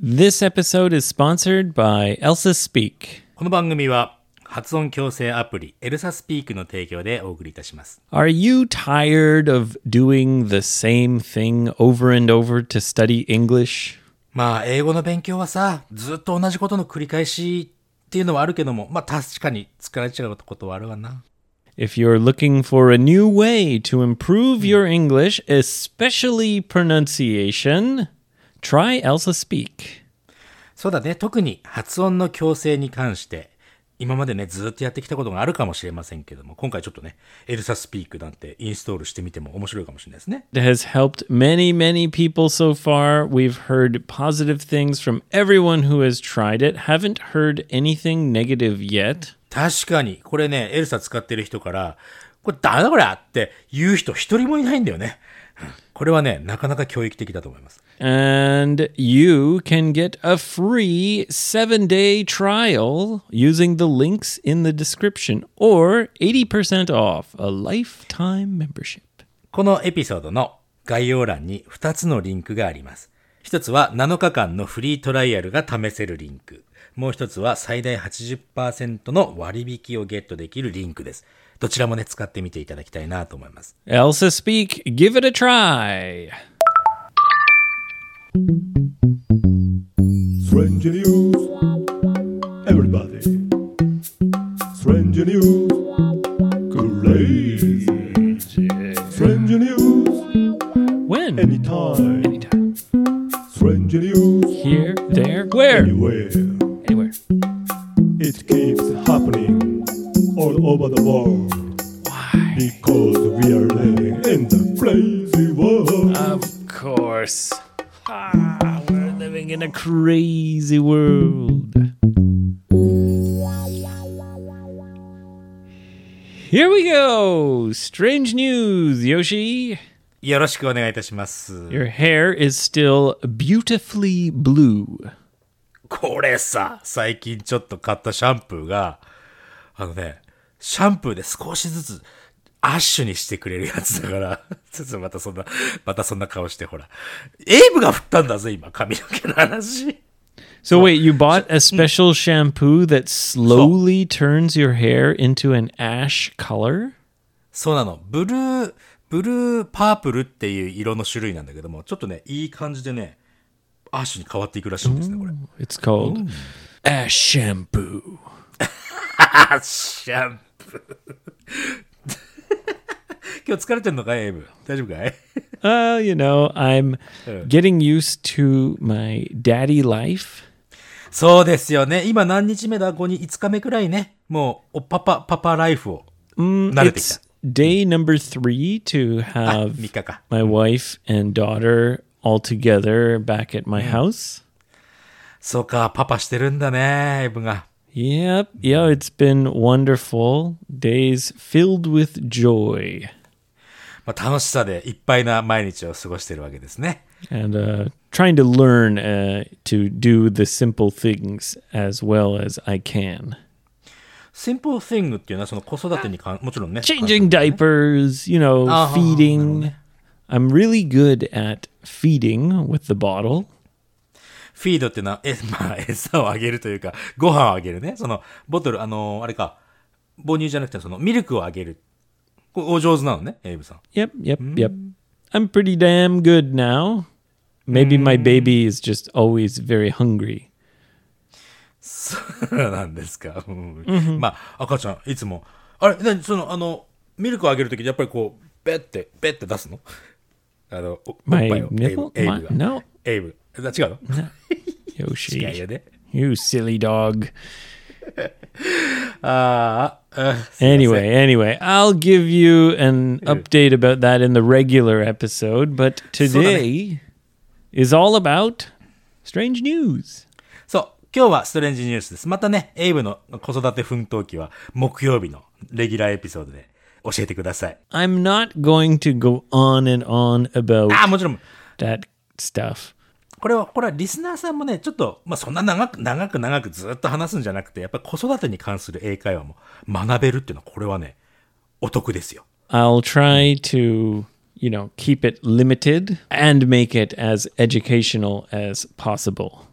This episode is sponsored by Elsa Speak. この番組は発音矯正アプリエルサスピークの提供でお送りいたします。 Are you tired of doing the same thing over and over to study English? まあ英語の勉強はさ、ずっと同じことの繰り返しっていうのはあるけども、まあ確かに疲れちゃうことはあるわな。 If you're looking for a new way to improve your English, especially pronunciation, try Elsa Speak. そうだね、特に発音の矯正に関して今までねずっとやってきたことがあるかもしれませんけども、今回ちょっとねエルサスピークなんてインストールしてみても面白いかもしれないですね。 It has helped many, many people so far. We've heard positive things from everyone who has tried it. Haven't heard anything negative yet. 確かにこれねエルサ使ってる人からこれダメだこれって言う人一人もいないんだよね。これはねなかなか教育的だと思います。 And you can get a free 7-day trial using the links in the description or 80% off a lifetime membership. このエピソードの概要欄に2つのリンクがあります。一つは7日間のフリートライアルが試せるリンク。もう一つは最大 80% の割引をゲットできるリンクです。どちらもね使ってみていただきたいなと思います。 Elsa Speak, give it a try. Strange news, everybody. Strange news, crazy. Strange news, When? anytime. Anytime. Strange news, Here, there, where? anywhere. Anywhere. It keeps happening all over the world. Why? Because we are living in the crazy world. Of course. We're living in a crazy world. Here we go. Strange news, Yoshi. よろしくお願いいたします。 Your hair is still beautifully blue. これさ、最近ちょっと買ったシャンプーがシャンプーで少しずつアッシュにしてくれるやつだから、ちょっとまたそんな顔してほら。エイブが振ったんだぜ、今、髪の毛の話。 So wait, you bought a special shampoo that slowly turns your hair into an ash color? そうなの。ブルーパープルっていう色の種類なんだけども、ちょっとね、いい感じでね、アッシュに変わっていくらしいんですね、これ。 It's called ash shampoo. アッシャンプー。今日疲れてんのかい、エイブ。大丈夫かい？ You know, I'm getting used to my daddy life. そうですよね。今何日目だ？5日目くらいね。もう、パパライフを慣れてきた。 It's day number 3 to 3 have 日か。 my wife and daughter all together back at my house. そうか、パパしてるんだね、エイブが。 Yep, yeah, it's been wonderful. Days filled with joy. まあ、楽しさでいっぱいな毎日を過ごしてるわけですね。 And trying to learn to do the simple things as well as I can. Simple thing っていうのはその子育てにもちろんね。 Changing diapers, you know, feeding. I'm really good at feeding with the bottle. フィードっていうのは、まあ、餌をあげるというか、ご飯をあげるね。その、ボトル、あれか、母乳じゃなくて、その、ミルクをあげる。これお上手なのね、エイブさん。 Yep. I'm pretty damn good now. Maybe my baby is just always very hungry. そうなんですか。まあ、赤ちゃん、いつも。あれ、ミルクをあげるとき、やっぱりこう、ベッて出すの？おっぱい My を。 nipple? エイブが。 No. エイブ。違うの？ Yoshi. 違うよね。 You silly dog. ああ、 Anyway, I'll give you an update about that in the regular episode, but today is all about strange news. そう、今日はストレンジニュースです。またね、エイブの子育て奮闘記は木曜日のレギュラーエピソードで教えてください。 I'm not going to go on and on about もちろん。 that stuff. これはリスナーさんもね、ちょっと、まあ、そんな長くずっと話すんじゃなくて、やっぱり子育てに関する英会話も学べるっていうのは、これはね、お得ですよ。 I'll try to, keep it limited and make it as educational as possible.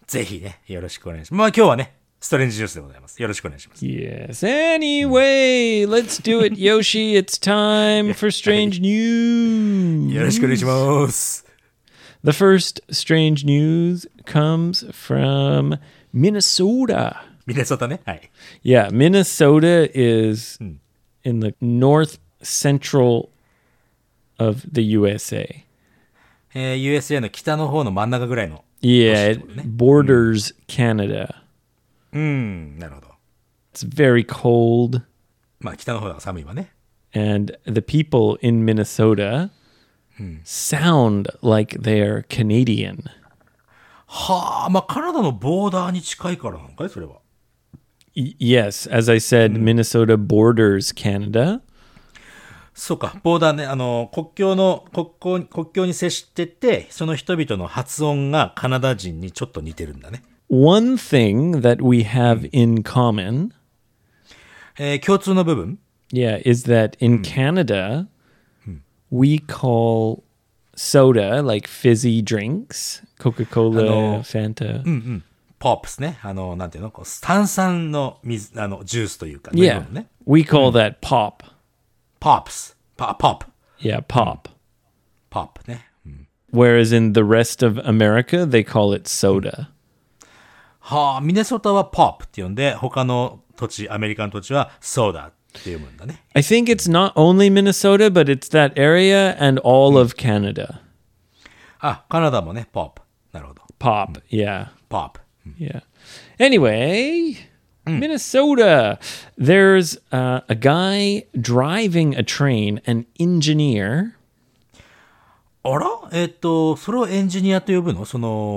ぜひね、よろしくお願いします。まあ今日はね、ストレンジニュースでございます。よろしくお願いします。 Yes. Anyway, let's do it, Yoshi. It's time for strange news. よろしくお願いします。 The first strange news comes from Minnesota. ミネソタね。はい。 Yeah, Minnesota is in the north central of the USA. USA の北の方の真ん中ぐらいの。 Yeah, it borders Canada. なるほど。 It's very cold, まあ北の方が寒いわね。 and the people in Minnesota sound like they're Canadian. はあ、まあカナダのボーダーに近いからなのかいそれは。 Yes, as I said, Minnesota borders Canada. そうか、ボーダーね、国境に接してて、その人々の発音がカナダ人にちょっと似てるんだね。 One thing that we have in common, 共通の部分 yeah, is that in Canada, we call soda like fizzy drinks, Coca-Cola, Fanta. ポップスね。なんていうのこう炭酸の水、ジュースというか、飲み Yeah, 物ね。 we call that pop. ポップス。ポップ。 Yeah, pop. ポップね。 Whereas in the rest of America, they call it soda. はあ、ミネソタはポップって呼んで、他の土地、アメリカの土地はソーダって読むんだね。 I think it's not only Minnesota, but it's that area and all of Canada. あ、カナダもね、ポップ。なるほど。 Pop, yeah. ポップ。 Yeah. Anyway, Minnesota. There's a guy driving a train, an engineer. あらそれをエンジニアと呼ぶの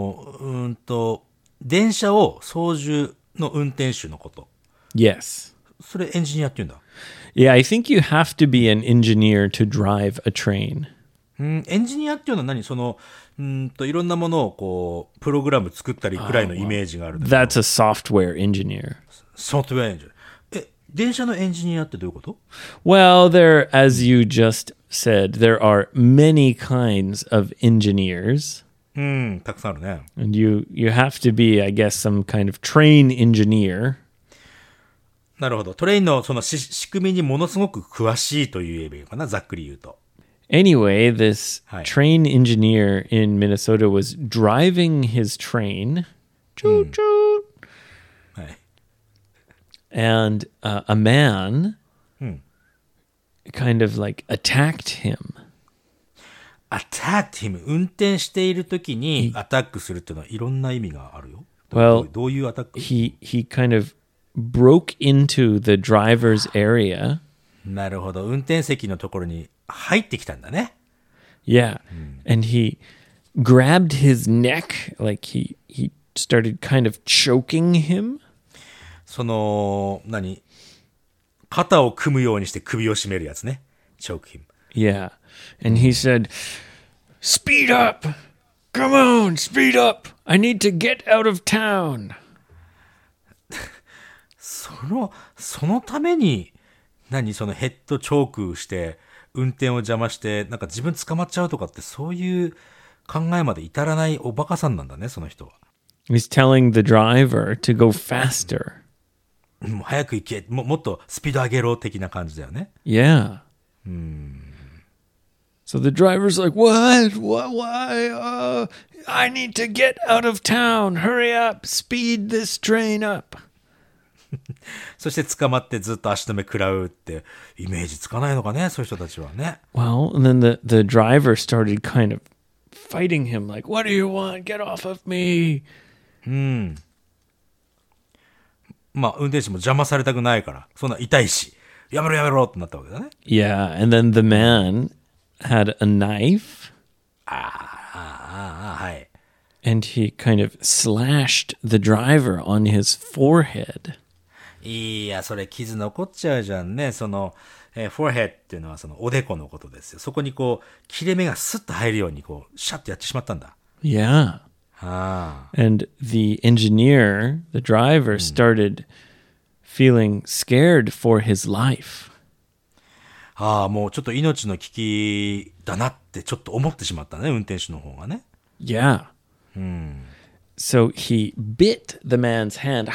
電車を操縦の運転手のこと。 Yes. それエンジニアって言うんだ。 Yeah, I think you have to be an engineer to drive a train. エンジニアっていうのは何いろんなものをこう、プログラム作ったりくらいのイメージがあるんだけど。 That's a software engineer. ソフトウェアエンジニア。電車のエンジニアってどういうこと？ Well, as you just said, there are many kinds of engineers. たくさんあるね。 And you have to be, I guess, some kind of train engineer. なるほど。トレインのその仕組みにものすごく詳しいと言えばいいのかな、ざっくり言うと。 Anyway, this Hi. train engineer in Minnesota was driving his train. Choo choo. はい。 And a man kind of like attacked him. attacked him 運転しているときにアタックするっていうのはいろんな意味があるよ。 Well, どういうアタック？ he kind of broke into the driver's area. なるほど。運転席のところに入ってきたんだね。 Yeah. And he grabbed his neck, like he started kind of choking him. 肩を組むようにして首を絞めるやつね。choke him. Yeah. And he said, "Speed up. Come on, speed up. I need to get out of town." そのために、ヘッドチョークして、運転を邪魔して、自分捕まっちゃうとかって、そういう考えまで至らないおバカさんなんだね、その人は。 He's telling the driver to go faster. もう早く行け、もっとスピード上げろ的な感じだよね。 Yeah. So the driver's like, What? Why? I need to get out of town. Hurry up. Speed this train up. そして捕まってずっと足止め食らうってイメージつかないのかね、そういう人たちはね。 Well, and then the driver started kind of fighting him like, What do you want? Get off of me. まあ、運転手も邪魔されたくないから、そんな痛いし、やめろってなったわけだね。 Yeah, and then the man had a knife. はい。 And he kind of slashed the driver on his forehead. いや、それ傷残っちゃうじゃんね。forehead っていうのはおでこのことですよ。そこに切れ目がスッと入るようにシャッとやってしまったんだ。 Yeah. And the engineer, the driver, started feeling scared for his life. もうちょっと命の危機だなってちょっと思ってしまったね、運転手の方がね。 Yeah. So he bit the man's hand.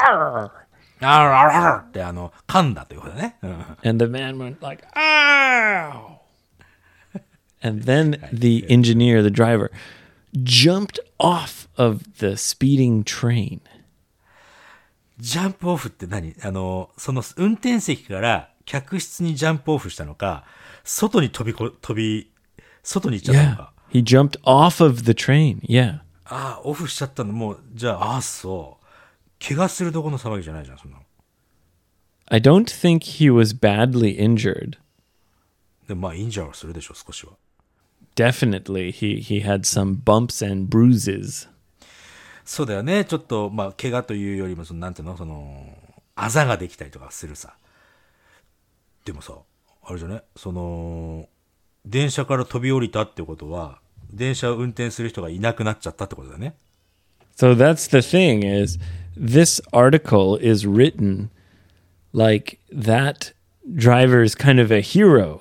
って噛んだということだね。 And the man went like, ow! And then the engineer, the driver, jumped off of the speeding train. ジャンプオフって何？その運転席から客室にジャンプオフしたのか、外に外に行っちゃったのか。 He jumped off of the train. Yeah. ああ、オフしちゃったの。もう、じゃあ、そう。怪我するとこの騒ぎじゃないじゃん、そんなの。 I don't think he was badly injured. でもまあ、インジャーはするでしょ、少しは。 Definitely, he had some bumps and bruises. そうだよね。ちょっと、まあ、怪我というよりも、なんていうの、あざができたりとかするさ。でもさ、あれじゃね、電車から飛び降りたってことは、電車を運転する人がいなくなっちゃったってことだね。 So that's the thing is, this article is written like that driver is kind of a hero.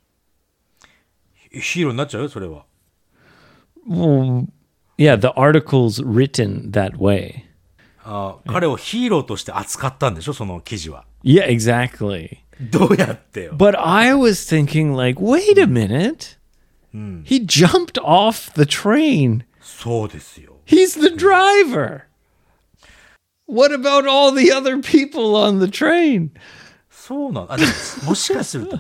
ヒーローになっちゃうよ、それは。 Well, yeah, the article's written that way. 彼をヒーローとして扱ったんでしょ、その記事は。 Yeah, exactly. どうやってよ。 But I was thinking like, wait a minute. He jumped off the train. そうですよ。 He's the driver. What about all the other people on the train? そうなの。でももしかすると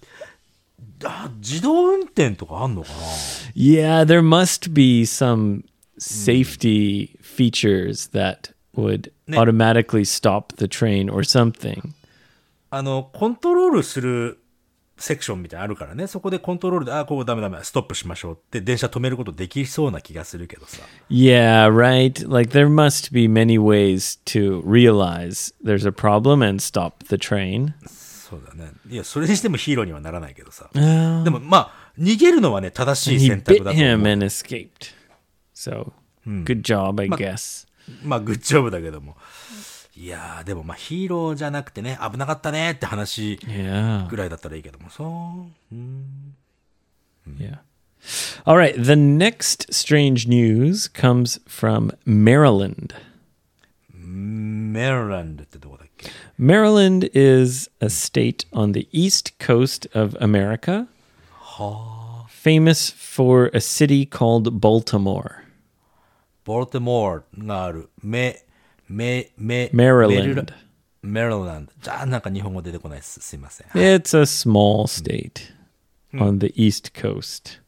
自動運転とかあんのかな？ Yeah, there must be some safety features that would automatically stop the train or something. コントロールするセクションみたいなのあるからね。そこでコントロールで、ここダメ、ストップしましょうって電車止めることできそうな気がするけどさ。 Yeah, right. Like there must be many ways to realize there's a problem and stop the train. そうだね。いや、それにしてもヒーローにはならないけどさ。でもまあ、逃げるのはね、正しい He 選択 bit だと思 him う。 and escaped. So, good job, I guess. まあ、グッジョブだけども。いやー、でもまあ、ヒーローじゃなくてね、危なかったねって話 Yeah. ぐらいだったらいいけども、そう。 Yeah. All right. The next strange news comes from Maryland. メリランドってどこだっけ？ Maryland is a state on the east coast of America, famous for a city called Baltimore. ボルテモアがある。 Maryland. メリランド。じゃあ、なんか日本語出てこないです。すいません。 It's a small state on the east coast.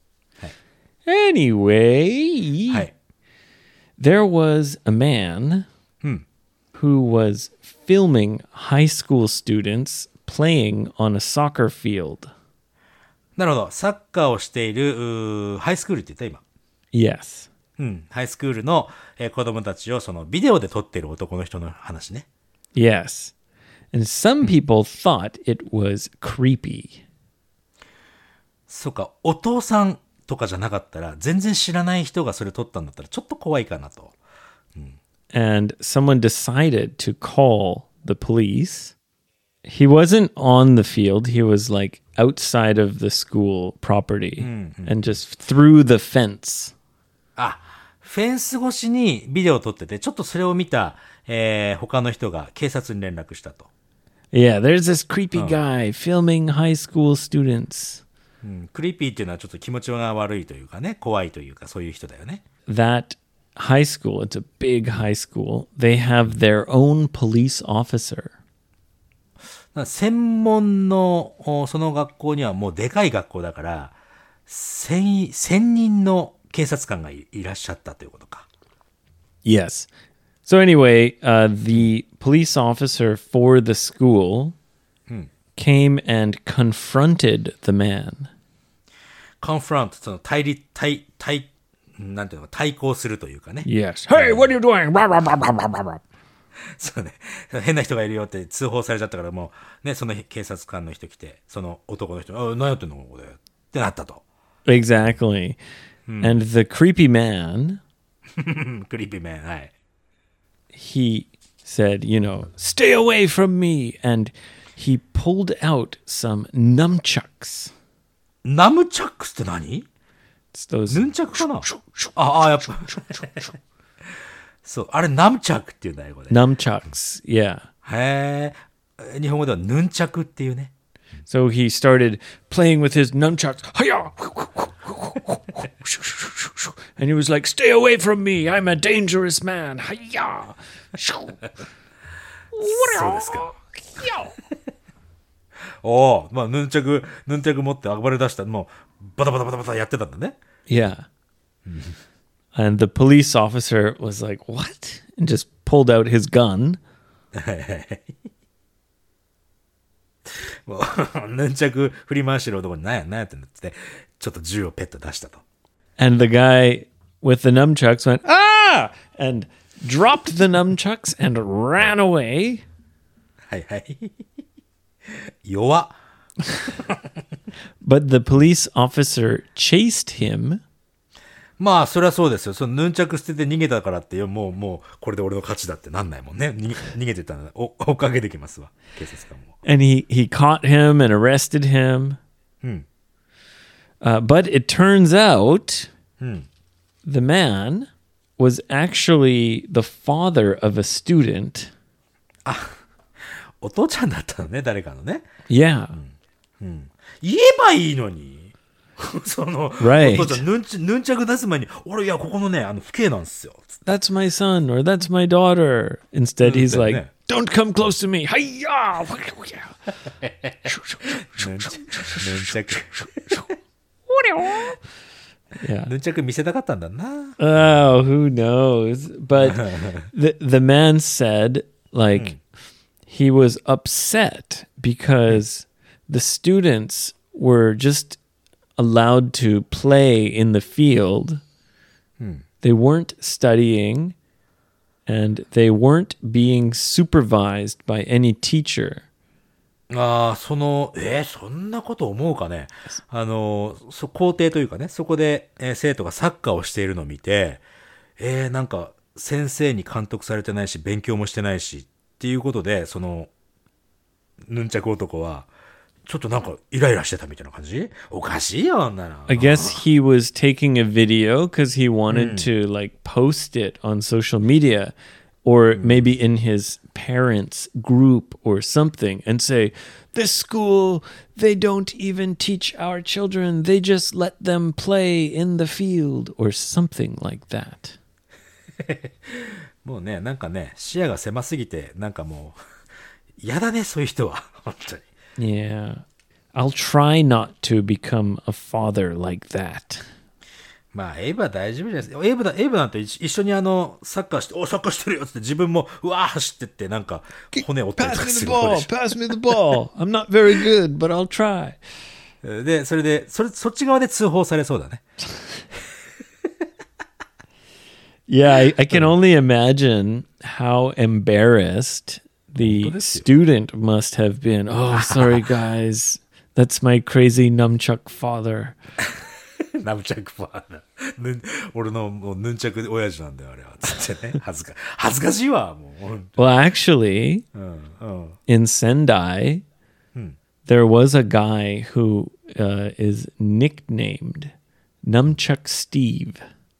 Anyway, はい。 there was a man who was filming high school students playing on a soccer field. なるほど。サッカーをしている、ハイスクールって言った今。 Yes. ハイスクールの、子供たちをそのビデオで撮ってる男の人の話ね。 Yes. And some people thought it was creepy. そうか、お父さんとかじゃなかったら、全然知らない人がそれ撮ったんだったら、ちょっと怖いかなと。 And someone decided to call the police. He wasn't on the field. He was like outside of the school property and just through the fence. フェンス越しにビデオを撮ってて、ちょっとそれを見た、他の人が警察に連絡したと。 Yeah, there's this creepy guy filming high school students. クリーピーっていうのはちょっと気持ちが悪いというかね、怖いというか、そういう人だよね。 That high school, it's a big high school, they have their own police officer. 専門の、その学校にはもうでかい学校だから、1000人の警察官がいらっしゃったということか。 Yes. So anyway, the police officer for the school came and confronted the man. confront そのなんていうの対抗するというかね。 Yes. Hey, what are you doing? そうね。変な人がいるよって通報されちゃったからもう、ね、その警察官の人来て、その男の人に、何やってんのここでってなったと。 Exactly. And the creepy man, クリーピーメン、はい。 he said, stay away from me. And he pulled out some nunchucks. ナムチャックスって何？ It's those ヌンチャクかな？やっぱ。 そう、あれナムチャクっていうんだ、英語で。 Nunchucks. Yeah. へえ。日本語ではヌンチャクっていうね。 So he started playing with his nunchucks. Hiya! And he was like, "Stay away from me. I'm a dangerous man." Hiya! そうですか。おお、まあヌンチャク持って暴れ出した。もうバタバタバタバタやってたんだね。 Yeah. And the police officer was like, "What?" And just pulled out his gun. もうヌンチャク振り回してる男になんやってんだって、ちょっと銃をペッと出したと。 And the guy with the nunchucks went, "Ah!" and dropped the nunchucks and ran away. はいはい。弱っ。 But the police officer chased him. まあそりゃそうですよ。そのヌンチャク捨てて逃げたからってもうこれで俺の勝ちだってなんないもんね。逃げてたら追っかけてきますわ、警察官も。 And he caught him and arrested him. But it turns out the man was actually the father of a student. お父ちゃんだったのね、誰かのね。 Yeah. 言えばいいのに。その、 Right. お父ちゃんヌンチャク出す前に、俺いやここのね、父兄なんですよ。 That's my son or that's my daughter. Instead, he's like, yeah. "Don't come close to me." Hiya! ヌンチャク Yeah. ヌンチャク見せたかったんだな。 Oh, who knows? But the man said, like, he was upset because the students were just allowed to play in the field. They weren't studying and they weren't being supervised by any teacher. ああ、そんなこと思うかね。校庭というかね、そこで、生徒がサッカーをしているのを見て、なんか先生に監督されてないし、勉強もしてないしっていうことで、そのヌンチャク男はちょっとなんかイライラしてたみたいな感じ？おかしいよ、あんなの。 I guess he was taking a video because he wanted to like post it on social media or maybe in his parents' group or something and say, "This school, they don't even teach our children. They just let them play in the field," or something like that. もうね、なんかね、視野が狭すぎて、なんかもう嫌だね、そういう人は本当に。 Yeah. I'll try not to become a father like that. まあ、エイブは大丈夫じゃないですか。エイブなんて一緒にサッカーして、サッカーしてるよって自分も、うわー走ってって、なんか、骨折ったりと Pass か me す the る方 ball. でし Pass me the ball. I'm not very good, but I'll try. ょ。で、そっち側で通報されそうだね。 Yeah, I can only imagine how embarrassed the student must have been. Oh, sorry, guys. That's my crazy nunchuck father. ナムチャクファーだ。俺のもうヌンチャク親父なんだよ、あれは。つってね。恥ずかしいわ、もう。 Well, actually, in Sendai, there was a guy who is nicknamed Nunchuck Steve.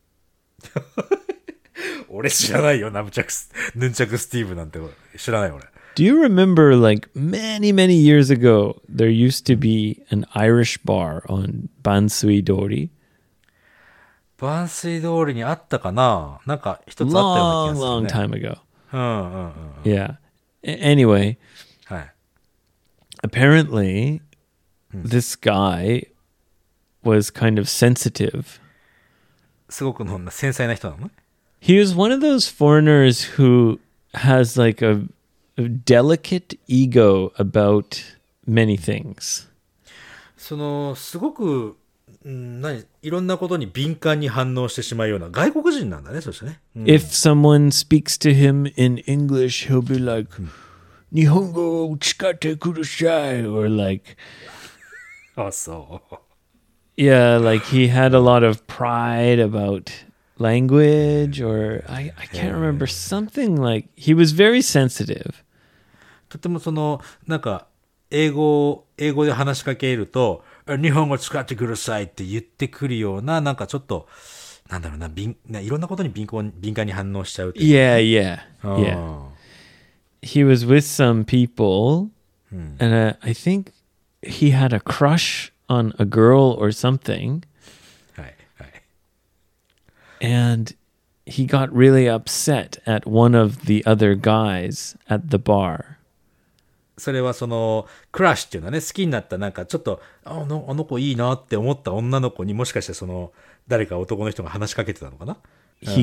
俺知らないよ、ヌンチャクスティーブなんて知らない俺。 Do you remember, like, many, many years ago, there used to be an Irish bar on Bansui Dori? バンスイ通りにあったかな、なんか一つあったような Long, 気がする、ね。 long time ago. うん。 Yeah. Anyway, はい。 apparently, this guy was kind of sensitive. すごく繊細な人なのね。 He was one of those foreigners who has like a delicate ego about many things. すごく、いろんなことに敏感に反応してしまうような外国人なんだね、そしてね。 If someone speaks to him in English, he'll be like, "Nihongo chikate kudasai," or like, あ、そう。 yeah, like he had a lot of pride about language, or I can't remember, something like he was very sensitive. とてもなんか、英語で話しかけると、日本語使ってくださいって言ってくるような、なんかちょっと、 なんだろうな、いろんなことに敏感に反応しちゃうっていう Yeah, yeah, か。 yeah. He was with some people, and I think he had a crush on a girl or something, はいはい。 and he got really upset at one of the other guys at the bar. それはそのクラッシュっていうのはね、好きになったなんかちょっとあの子いいなって思った女の子にもしかしてその誰か男の人が話しかけてたのかな。 He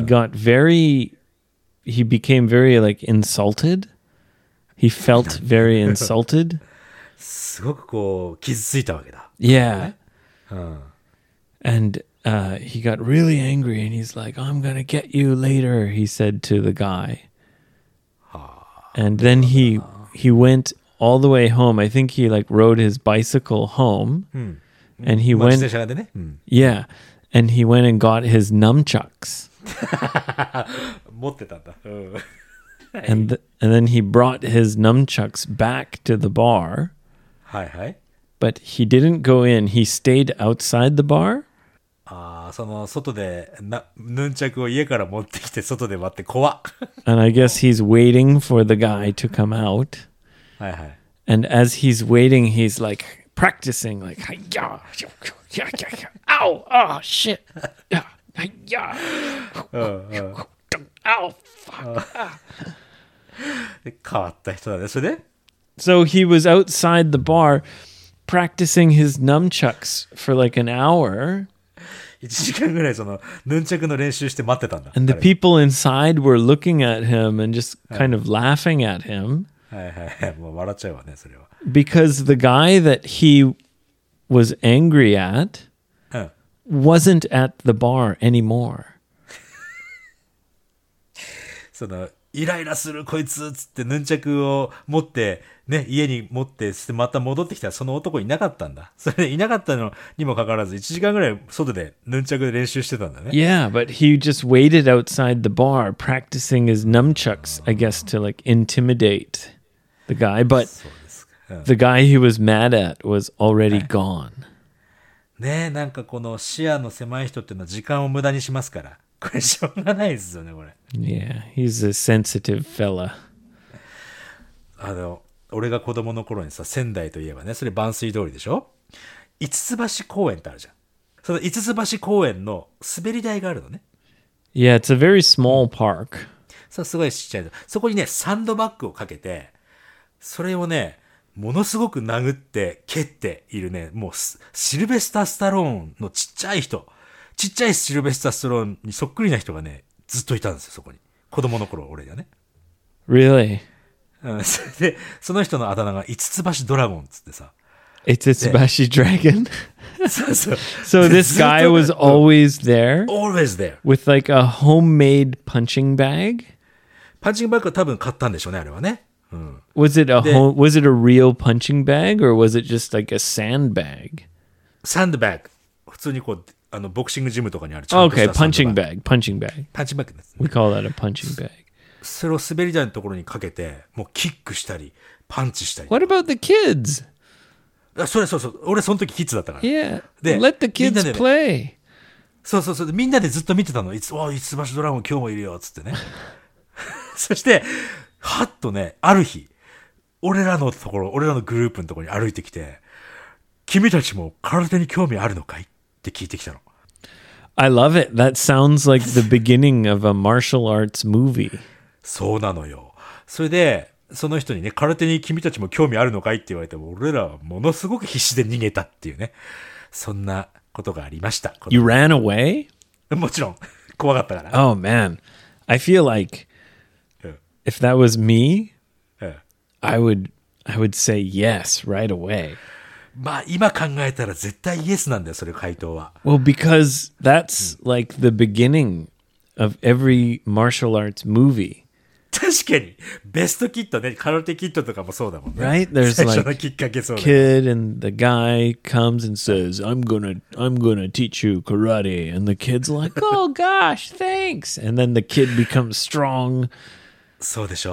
became very like insulted. He felt very insulted. すごくこう傷ついたわけだ。 Yeah. うん。 And he got really angry and he's like, I'm going to get you later, he said to the guy. And then he went all the way home. I think he like rode his bicycle home. And he まあ went, 自転車でね、うん、 yeah. And he went and got his nunchucks. 持ってたんだ。うん。 And then he brought his nunchucks back to the bar. はいはい。 But he didn't go in. He stayed outside the bar. ああ、その外でヌンチャクを家から持ってきて外で待って怖っ。 And I guess he's waiting for the guy to come out. はいはい。 And as he's waiting, he's like practicing, like, "Hi-ya, yeah, yeah. Ow, oh, shit. Yeah, hi-ya. Ow, fuck. 変わった人だね。それで So he was outside the bar practicing his nunchucks for like an hour. 1時間ぐらいそのヌンチャクの練習して待ってたんだ。 And the 彼は people inside were looking at him and just kind of laughing at him はいはい。もう笑っちゃうわね、それは。 because the guy that he was angry at うん。 wasn't at the bar anymore. そのイライラするこいつっつってヌンチャクを持ってね、家に持ってまた戻ってきたらその男いなかったんだ。それでいなかったのにもかかわらず1時間ぐらい外でヌンチャクで練習してたんだね。 Yeah, but he just waited outside the bar practicing his nunchucks, I guess, to like intimidate the guy. But そうですか。うん、 the guy he was mad at was already gone. ねえ、なんかこの視野の狭い人っていうのは時間を無駄にしますから。これしょうがないですよね、これ。 Yeah, he's a sensitive fella. 俺が子供の頃にさ、仙台といえばね、それ万水通りでしょ？五ツ橋公園ってあるじゃん。その五ツ橋公園の滑り台があるのね。 Yeah, it's a very small park. そう、すごいちっちゃいの。そこにね、サンドバッグをかけて、それをね、ものすごく殴って蹴っているね、もうシルベスター・スタローンのちっちゃい人、ちっちゃいシルベスター・スタローンにそっくりな人がね、ずっといたんですよ、そこに。子供の頃、俺がね。 Really? うん、それで、その人のあだ名が五ツ橋ドラゴンっつってさ。 It's Itsubashi Dragon. そうそう。 So this guy was always there always there. with like a homemade punching bag. パンチングバッグは多分買ったんでしょうね、あれはね。うん。 Was it a The- was it a real punching bag or was it just like a sandbag? サンドバッグ。普通にこう、ボクシングジムとかにあるちゃんとし Okay, たサンド punching バッグ。 bag, punching bag. パンチングバッグです。 We call that a punching bag. それを滑り台のところにかけて、もうキックしたり、パンチしたり。 What about the kids? そうそう。俺その時キッズだったから。 Yeah, The- let the kids みんなでね。 play. そう。みんなでずっと見てたの。五ツ橋ドラゴン今日もいるよ、つってね。そして、はっとね、ある日、俺らのグループのところに歩いてきて、君たちも空手に興味あるのかいって聞いてきたの。 I love it. That sounds like the beginning of a martial arts movie. そうなのよ。それで、その人にね、空手に君たちも興味あるのかいって言われても、俺らはものすごく必死で逃げたっていうね。そんなことがありました。 You ran away? もちろん、怖かったから。 Oh man. I feel like うん if that was me, うん I would say yes right away. まあ、今考えたら絶対イエスなんだよ、それ回答は。 Well, because that's like the beginning of every martial arts movie, 確かに、ベストキットね、空手キットとかもそうだもんね。 right? There's 最初の like きっかけそうだ。 kid and the guy comes and says, I'm gonna teach you karate. And the kid's like, oh gosh, thanks. And then the kid becomes strong. そうでしょう。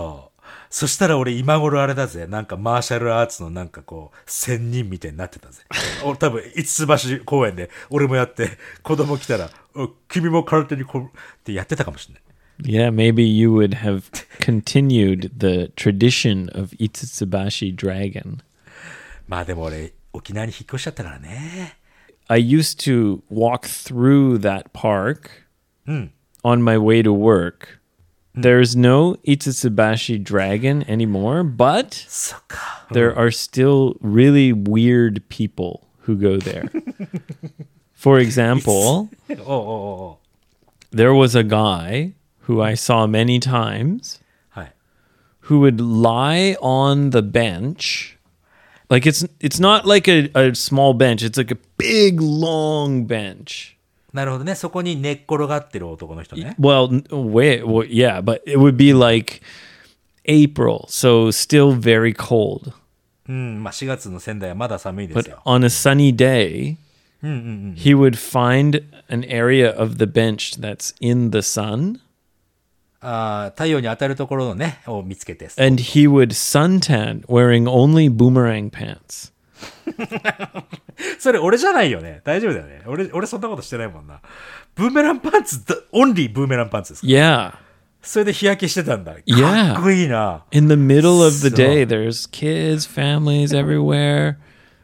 そしたら俺今頃あれだぜ。なんかマーシャルアーツのなんかこう、仙人みたいになってたぜ。俺多分、五つ橋公園で俺もやって、子供来たら、君も空手にこうってやってたかもしれない。 Yeah, maybe you would have continued the tradition of Itsutsubashi Dragon. まあでも俺、沖縄に引っ越しちゃったからね。 I used to walk through that park うん。 on my way to work. There's no Itsutsubashi Dragon anymore, but そっか。 there are still really weird people who go there. For example, おうおうおう。 there was a guy who I saw many times はい。 who would lie on the bench. Like it's not like a small bench, it's like a big long bench. なるほどね。そこに寝っ転がってる男の人ね。 Well, yeah, but it would be like April, so still very cold. うん。まあ4月の仙台はまだ寒いです But よ。 on a sunny day, he would find an area of the bench that's in the sun, 太陽に当たるところのね、を見つけて。 and he would suntan wearing only boomerang pants. それ俺じゃないよね。大丈夫だよね。俺そんなことしてないもんな。ブーメランパンツだ、オンリーブーメランパンツですか？ Yeah. それで日焼けしてたんだ。か Yeah. っこいいな。 In the middle of the So- day, there's kids, families everywhere.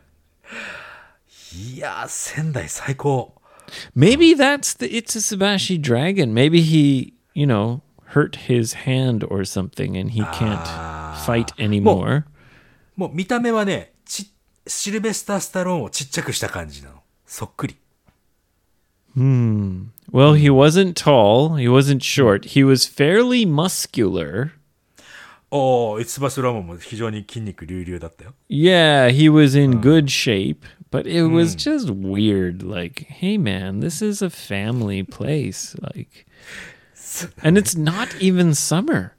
いやー、仙台最高。 Maybe that's the Itsutsubashi dragon. Maybe he, hurt his hand or something and he can't fight anymore. もう見た目はね、シルベスター・スタローンをちっちゃくした感じなの。そっくり。 Well, he wasn't tall, he wasn't short. He was fairly muscular. おー、イツバスラモンも非常に筋肉隆々だったよ。 Yeah, he was in good shape, but it was just weird. Like, hey man, this is a family place. Like, and it's not even summer.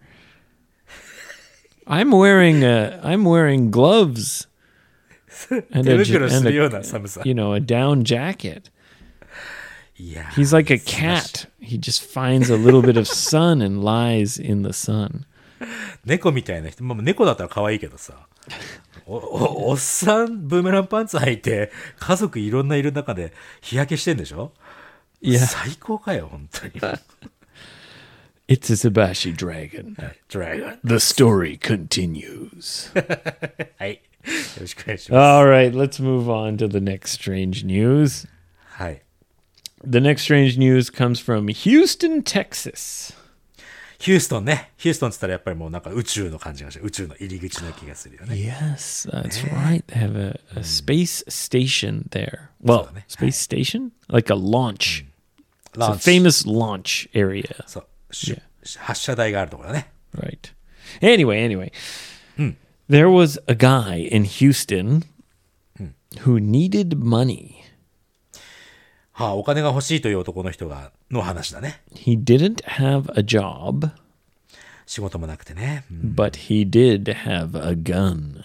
I'm wearing gloves and 手 a, 袋す and るような a, 寒さ。 a down jacket. いやー He's like a cat. He just finds a little bit of sun and lies in the sun. 猫みたいな人、まあ、猫だったら可愛いけどさ。おっさん、ブーメランパンツ履いて、家族いろんないる中で日焼けしてんでしょ？ Yeah. 最高かよ、本当に。 It's a Tsubashi dragon. ドラゴン。 The story continues. はい。よろしくお願いしま All right, let's move on to the next strange news. す。はい。 The next strange news comes from Houston, Texas. ヒューストンね。ヒューストンって言ったらやっぱりもうなんか宇宙の感じがして、宇宙の入り口の気がするよね。 Yes, that's right. They have a space station there. Well, space station? Like a launch. It's a ランチ。 famous launch area. そう。発射台があるところだね。 Right. Anyway. There was a guy in Houston who needed money. はあ、お金が欲しいという男の人の話だね。 He didn't have a job, 仕事もなくてね。 but he did have a gun.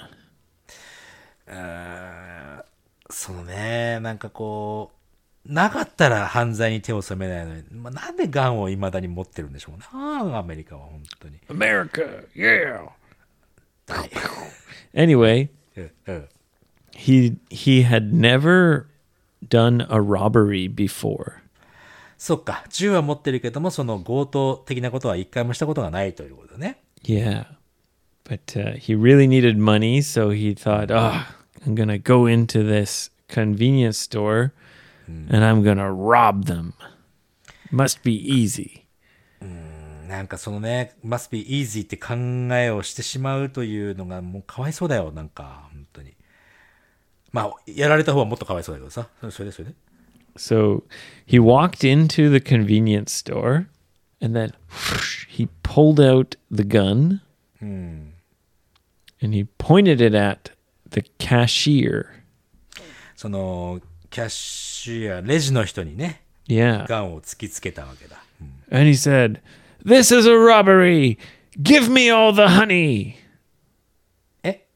そのね、なんかこう、なかったら犯罪に手を染めないのに、まあ、なんでガンを未だに持ってるんでしょうね。アメリカは本当に。 America, yeah. はい Anyway, うん he had never done a robbery before. そっか。銃は持ってるけども、その強盗的なことは一回もしたことがないということだね。 Yeah. But he really needed money, so he thought, I'm going to go into this convenience store and I'm going to rob them. Must be easy. なんかそのね、must be easy って考えをしてしまうというのがもうかわいそうだよ。なんか、本当に。まあ、やられた方はもっとかわいそうだけどさ。それで。 So he walked into the convenience store and then he pulled out the gun and he pointed it at the cashier. その、キャッシュやレジの人にね、 Yeah. ガンを突きつけたわけだ。 And he said, "This is a robbery. Give me all the honey." え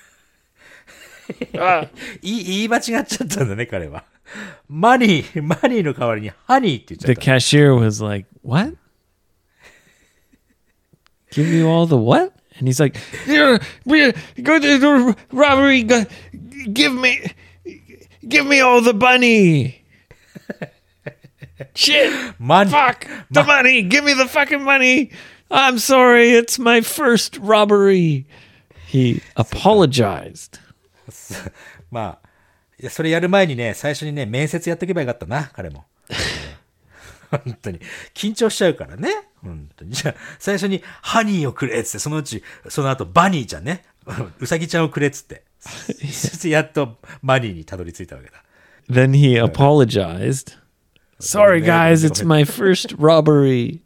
言い間違っちゃったんだね、彼は。マニーの代わりにハニーって言っちゃ The った。 cashier was like, "What? Give you all the what?" And he's like, "Here, go to the robbery. Give me all the money. Shit. Money. Fuck the money. Give me the fucking money. I'm sorry. It's my first robbery." He apologized. まあ、いや、それやる前にね、最初にね、面接やっとけばよかったな、彼も。本当に。緊張しちゃうからね。本当に。じゃあ、最初にハニーをくれっつって、その後バニーちゃんね。うさぎちゃんをくれっつって。そしてやっとバニーにたどり着いたわけだ。 Then he apologized. Sorry, guys. It's my first robbery.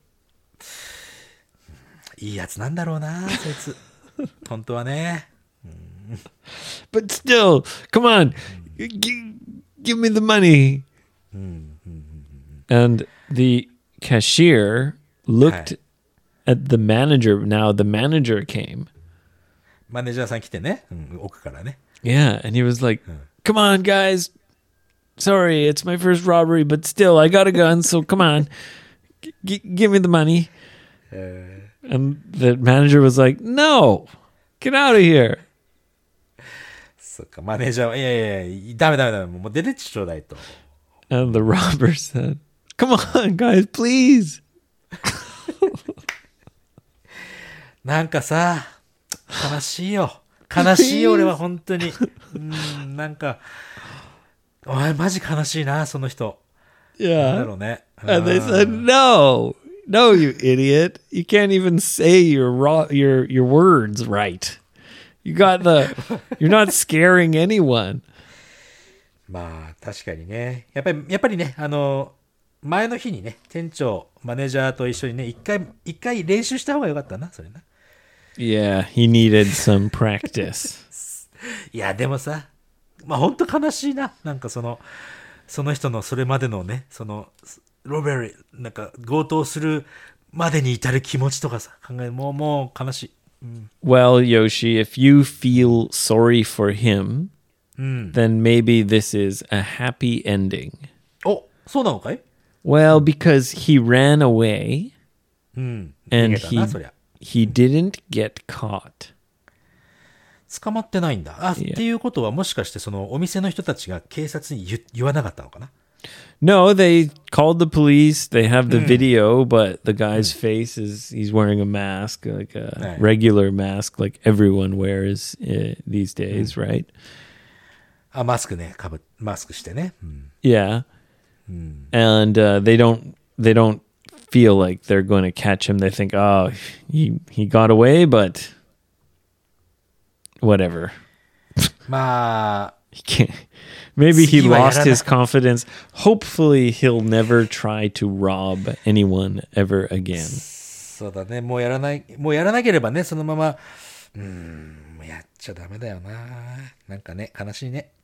いいやつなんだろうな、そいつ。本当はね。 But still, come on. Give me the money. And the cashier looked at the manager. Now the manager came. マネージャーさん来てね、奥からね。 Yeah, and he was like, "Come on, guys. Sorry, it's my first robbery, but still, I got a gun, so come on. Give me the money." And the manager was like, "No, get out of here." そっか、マネージャーは、いやいや、ダメ、もう出てちょうだいと。 And the robber said, "Come on, guys, please." なんかさ、悲しいよ。悲しいよ、俺は本当に。なんか、お前マジ悲しいな、その人。なんだ Yeah. ろうね。 And they said, "No, you idiot. You can't even say your words right. You're not scaring anyone." まあ、確かにね。やっぱりね、前の日にね、店長、マネージャーと一緒にね、一回練習した方がよかったな、それな。 Yeah, he needed some practice. いや、でもさ、まあ本当悲しいな。なんかその人のそれまでのね、ロベリー、なんか強盗するまでに至る気持ちとかさ、もう悲しい。 Well, Yoshi, if you feel sorry for him, then maybe this is a happy ending. お、そうなのかい？ Well, because he ran away 逃 and げたな、そりゃ。 he didn't get caught. 捕まってないんだ。 いやっていうことはもしかしてそのお店の人たちが警察に言わなかったのかな？ No, they called the police. They have the video, but the guy's face he's wearing a mask, like a Right. regular mask, like everyone wears these days, right? マスクね、マスクしてね。 Yeah. And they don't feel like they're going to catch him. They think, "Oh, he got away, but whatever." まあ、 He can't. Maybe he 次はやらない。 lost his confidence. Hopefully, he'll never try to rob anyone ever again. そうだね、もうやらなければね、そのまま、やっちゃダメだよな。なんかね、悲しいね。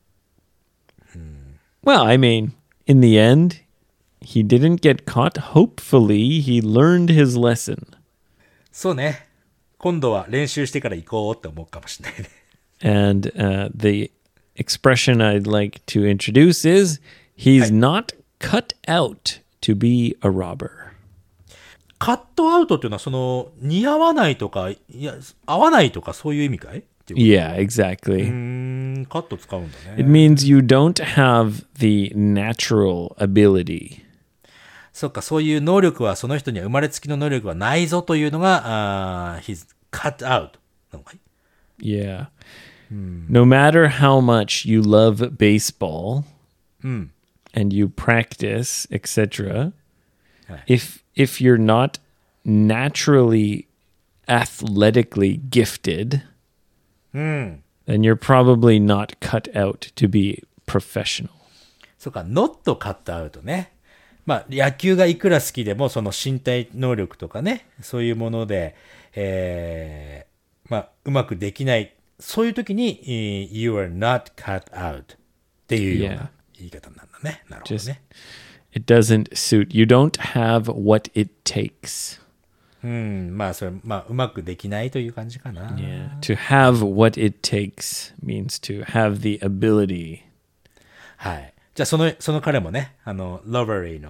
Well, I mean, in the end, he didn't get caught. Hopefully, he learned his lesson. そうね。今度は練習してから行こうって思うかもしれないね。 And the expression I'd like to introduce is he's not cut out to be a robber. カットアウトっていうのは似合わないとか、合わないとかそういう意味かいっていう Yeah, exactly. カット使うんだ It ね。 means you don't have the natural ability. そっか、そういう能力は、その人には生まれつきの能力はないぞというのが、he's cut out なのかい？ Yeah. No matter how much you love baseball and you practice, etc., if you're not naturally athletically gifted, then you're probably not cut out to be professional. そっか、not cut out ね。まあ、野球がいくら好きでも、その身体能力とかね、そういうもので、まあ、うまくできない。そういう時に、you are not cut out っていうような言い方なんだね。なるほど Just ね。 it doesn't suit. You don't have what it takes. まあ、それ、まあ、うまくできないという感じかな。 Yeah. To have what it takes means to have the ability. はい。じゃあ、その彼もね、ロバリーの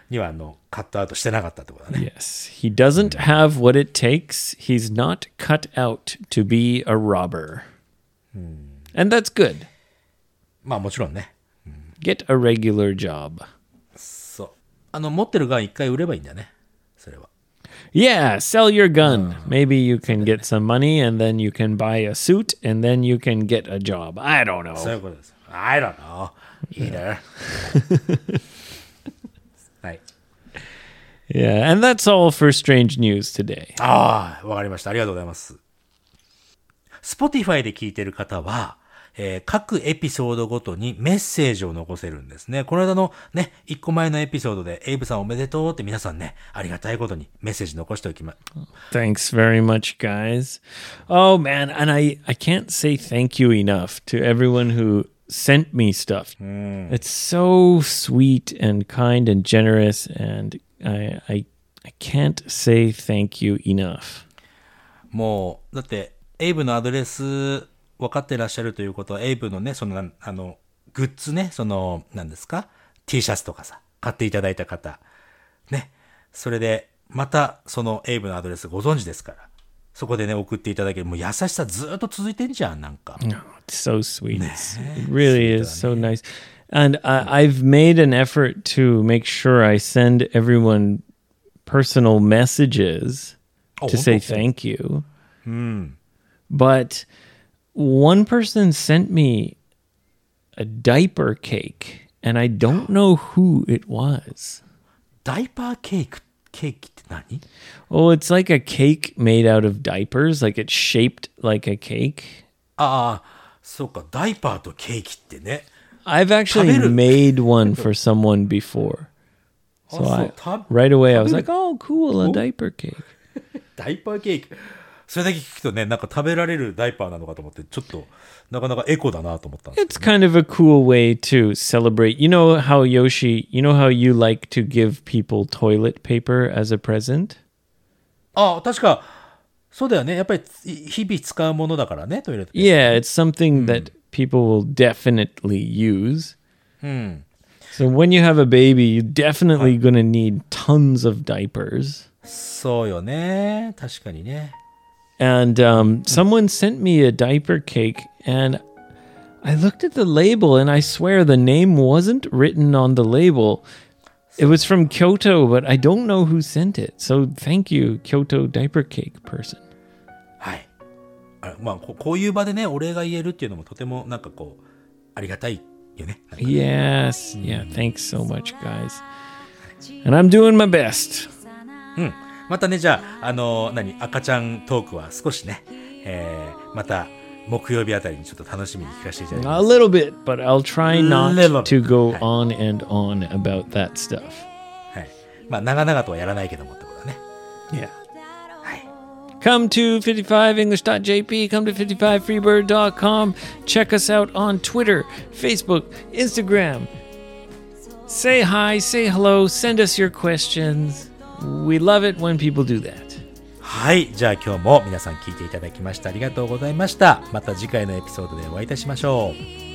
にはカットアウトしてなかったってことだね。 Yes, he doesn't have what it takes. He's not cut out to be a robber. And that's good. まあもちろんね。 Get a regular job. そう持ってるガン一回売ればいいんだね、それは。 Yeah, sell your gun. Maybe you can get some money and then you can buy a suit and then you can get a job. I don't そうい know. うことです。I don't know either. はい。 Yeah, and that's all for strange news today. ああ、わかりました。ありがとうございます。Spotify で聞いてる方は、各エピソードごとにメッセージを残せるんですね。この間のね、1個前のエピソードで、エイブさんおめでとうって皆さんね、ありがたいことにメッセージ残しておきま、 Thanks very much, guys. Oh, man. And I can't say thank you enough to everyone who sent me stuff. It's so sweet and kind and generous. And I can't say thank you enough. もう、だって、エイブのアドレス分かってらっしゃるということは、エイブのね、グッズね、何ですか T シャツとかさ、買っていただいた方。ね。それで、また、エイブのアドレスご存知ですから。そこでね、送っていただける。もう優しさずっと続いてんじゃん、なんか。 Oh, it's so sweet. It really is so nice. And I've made an effort to make sure I send everyone personal messages to say thank you. But one person sent me a diaper cake, and I don't know who it was. ダイパーケーキって何？ Oh, it's like a cake made out of diapers, like it's shaped like a cake. ああ、そうか、ダイパーとケーキってね。 I've actually made one for someone before. So right away I was like, oh, cool, a diaper cake. ダイパーケーキ。それだけ聞くとね、なんか食べられるダイパーなのかと思って、ちょっと、なかなかエコだなと思ったんですけど。 It's kind of a cool way to celebrate. You know how, Yoshi, you know how you like to give people toilet paper as a present? ああ、確か、そうだよね。やっぱり日々使うものだからね、トイレットペーパー。 Yeah, it's something that people will definitely use. So when you have a baby, you're definitely going to need tons of diapers. そうよね。確かにね。 And someone sent me a diaper cake, and I looked at the label, and I swear the name wasn't written on the label. It was from Kyoto, but I don't know who sent it. So thank you, Kyoto diaper cake person. はい。まあ、こういう場でね、お礼が言えるっていうのもとてもなんかこう、ありがたいよね。 Yes. Yeah, thanks so much, guys. And I'm doing my best. またね、じゃあ、赤ちゃんトークは少しね、また木曜日あたりにちょっと楽しみに聞かせていただきます。 A little bit, but I'll try not to go on and on about that stuff. はい。まあ、長々とはやらないけどもってことだね。 Yeah. はい。 Come to 55english.jp, come to 55freebird.com. Check us out on Twitter, Facebook, Instagram. Say hi, say hello, send us your questions. We love it when people do that. はい。じゃあ今日も皆さん聞いていただきましてありがとうございました。また次回のエピソードでお会いいたしましょう。